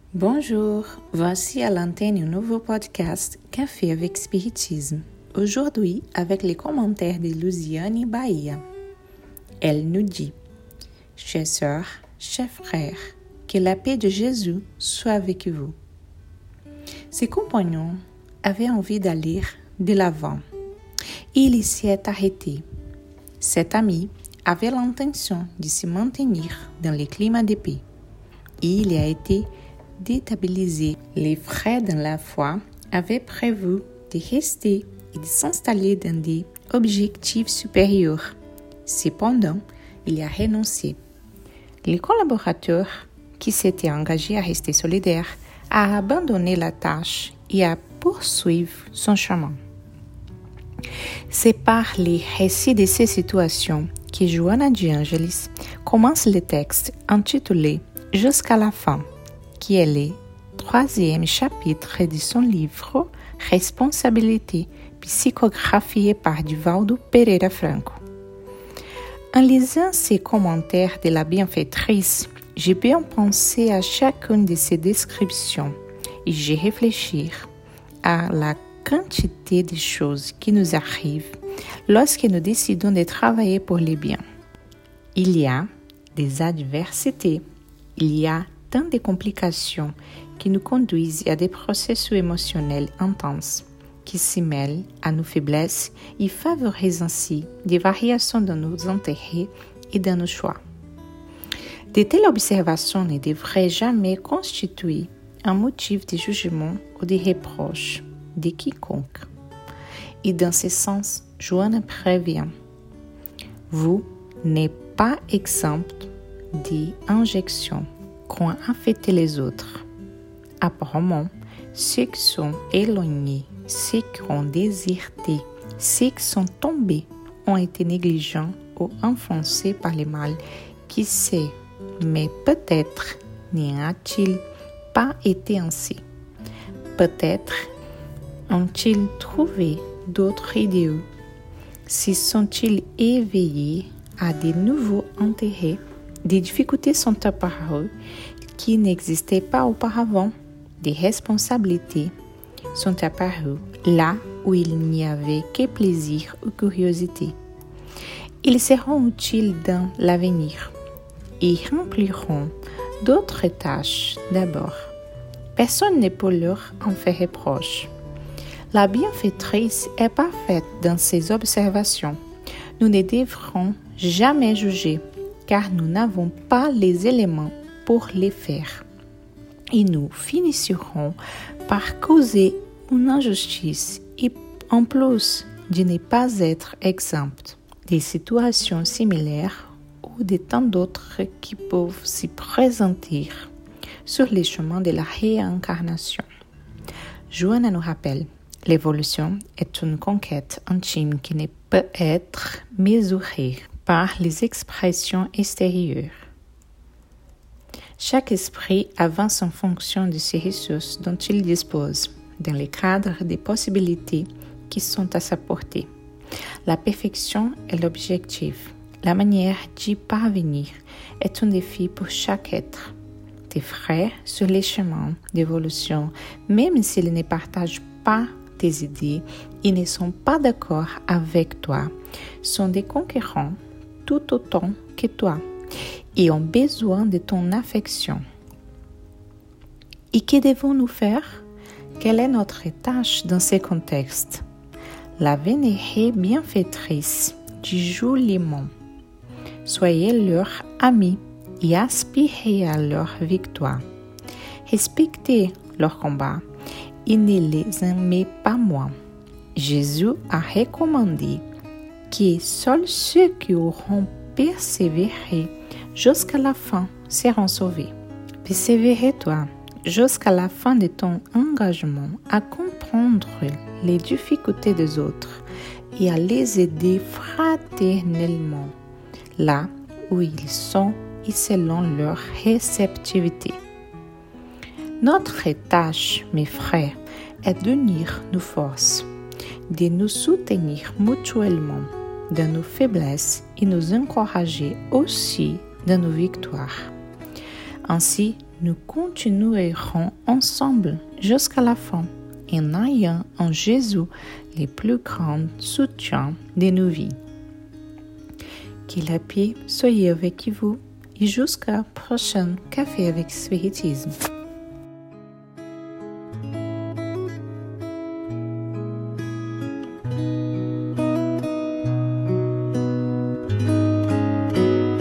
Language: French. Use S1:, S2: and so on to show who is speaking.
S1: Bonjour, voici à l'antenne un nouveau podcast Café avec Spiritisme. Aujourd'hui, avec les commentaires de Luciane Bahia. Elle nous dit: Chers sœurs, chers frères, que la paix de Jésus soit avec vous. Ses compagnons avaient envie d'aller de l'avant. Il s'y est arrêté. Cet ami avait l'intention de se maintenir dans le climat de paix. Il a été déstabilisé. Les frères dans la foi avaient prévu de rester et de s'installer dans des objectifs supérieurs. Cependant, il a renoncé. Le collaborateur qui s'était engagé à rester solidaire a abandonné la tâche et a poursuivi son chemin. C'est par les récits de ces situations que Joana de Angelis commence le texte intitulé « Jusqu'à la fin », qui est le 3e chapitre de son livre « Responsabilité » psychographié par Divaldo Pereira Franco. En lisant ces commentaires de la bienfaitrice, j'ai bien pensé à chacune de ces descriptions et j'ai réfléchi à la quantité de choses qui nous arrivent lorsque nous décidons de travailler pour le bien. Il y a des adversités, il y a tant de complications qui nous conduisent à des processus émotionnels intenses qui s'y mêlent à nos faiblesses et favorisent ainsi des variations dans nos intérêts et dans nos choix. De telles observations ne devraient jamais constituer un motif de jugement ou de reproche de quiconque. Et dans ce sens, Joana prévient: vous n'êtes pas exempt d'injections qu'ont affecté les autres. Apparemment, ceux qui sont éloignés, ceux qui ont déserté, ceux qui sont tombés ont été négligents ou enfoncés par le mal. Qui sait, mais peut-être n'y a-t-il pas été ainsi. Peut-être ont-ils trouvé d'autres idéaux. S'y sont-ils éveillés à de nouveaux intérêts. Des difficultés sont apparues qui n'existaient pas auparavant. Des responsabilités sont apparues là où il n'y avait que plaisir ou curiosité. Ils seront utiles dans l'avenir et rempliront d'autres tâches d'abord. Personne ne peut leur en faire reproche. La bienfaitrice est parfaite dans ses observations. Nous ne devrons jamais juger, car nous n'avons pas les éléments pour les faire. Et nous finirons par causer une injustice et en plus de ne pas être exempt des situations similaires ou de tant d'autres qui peuvent s'y présenter sur les chemins de la réincarnation. Joana nous rappelle: l'évolution est une conquête intime qui ne peut être mesurée par les expressions extérieures. Chaque esprit avance en fonction de ses ressources dont il dispose, dans le cadre des possibilités qui sont à sa portée. La perfection est l'objectif. La manière d'y parvenir est un défi pour chaque être. Tes frères sur les chemins d'évolution, même s'ils ne partagent pas tes idées et ne sont pas d'accord avec toi, sont des concurrents tout autant que toi et ont besoin de ton affection. Et que devons-nous faire? Quelle est notre tâche dans ces contextes? La vénérée bienfaitrice dit joliment: soyez leurs amis et aspirez à leur victoire. Respectez leur combat et ne les aimez pas moins. Jésus a recommandé que seuls ceux qui auront persévéré jusqu'à la fin seront sauvés. Persévère-toi jusqu'à la fin de ton engagement à comprendre les difficultés des autres et à les aider fraternellement là où ils sont et selon leur réceptivité. Notre tâche, mes frères, est d'unir nos forces, de nous soutenir mutuellement dans nos faiblesses et nous encourager aussi dans nos victoires. Ainsi, nous continuerons ensemble jusqu'à la fin en ayant en Jésus les plus grands soutiens de nos vies. Que la paix soit avec vous et jusqu'à prochain Café avec Spiritisme.